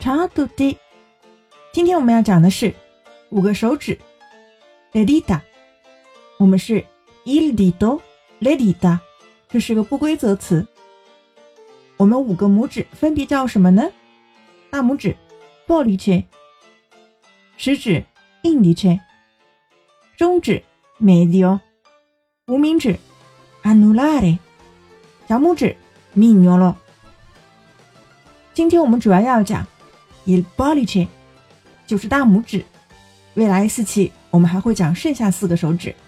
Ciao a tutti。今天我们要讲的是5个手指 le dita。我们是 il dito le dita， 这是个不规则词。我们5个拇指分别叫什么呢？大拇指 pollice， 食指 indice， 中指 medio， 无名指 anulare， 小拇指 mignolo。今天我们主要要讲 il pollice， 就是大拇指。未来4期我们还会讲剩下4个手指。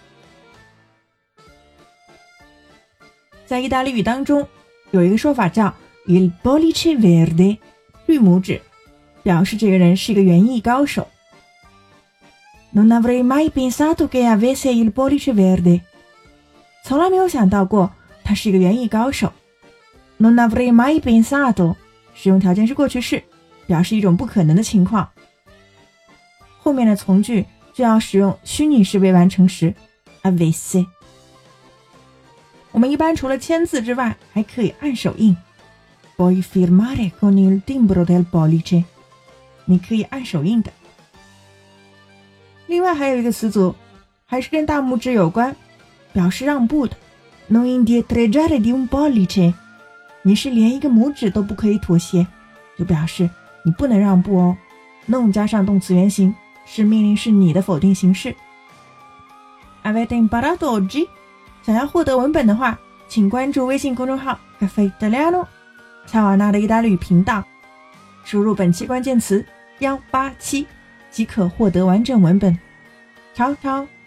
在意大利语当中有一个说法叫 il pollice verde， 绿拇指，表示这个人是一个园艺高手。Non avrei mai pensato che avesse il pollice verde， 从来没有想到过他是一个园艺高手。Non avrei mai pensato， 使用条件是过去式，表示一种不可能的情况。后面的从句就要使用虚拟式为完成时 avesse。 我们一般除了签字之外还可以按手印， Puoi firmare con il timbro del pollice， 你可以按手印的。另外还有一个词组还是跟大拇指有关，表示让步的， Non indietreggiare di un pollice， 你是连一个拇指都不可以妥协，就表示你不能让步哦。 Non 加上动词原形是命令式你的否定形式。 Avete imparato oggi？ 想要获得文本的话，请关注微信公众号 Caffè Italiano 乔瓦纳的意大利语频道，输入本期关键词187即可获得完整文本。Ciao ciao。